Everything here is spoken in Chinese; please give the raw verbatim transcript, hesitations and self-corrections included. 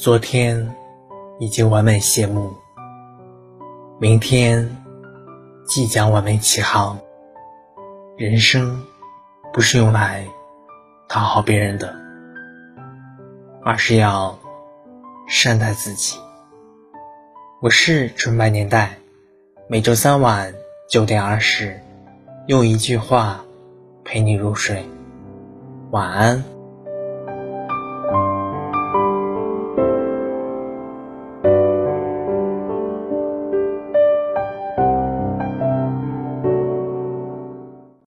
昨天已经完美谢幕，明天即将完美起航。人生不是用来讨好别人的，而是要善待自己。我是纯白年代，每周三晚九点二十，用一句话陪你入睡。晚安。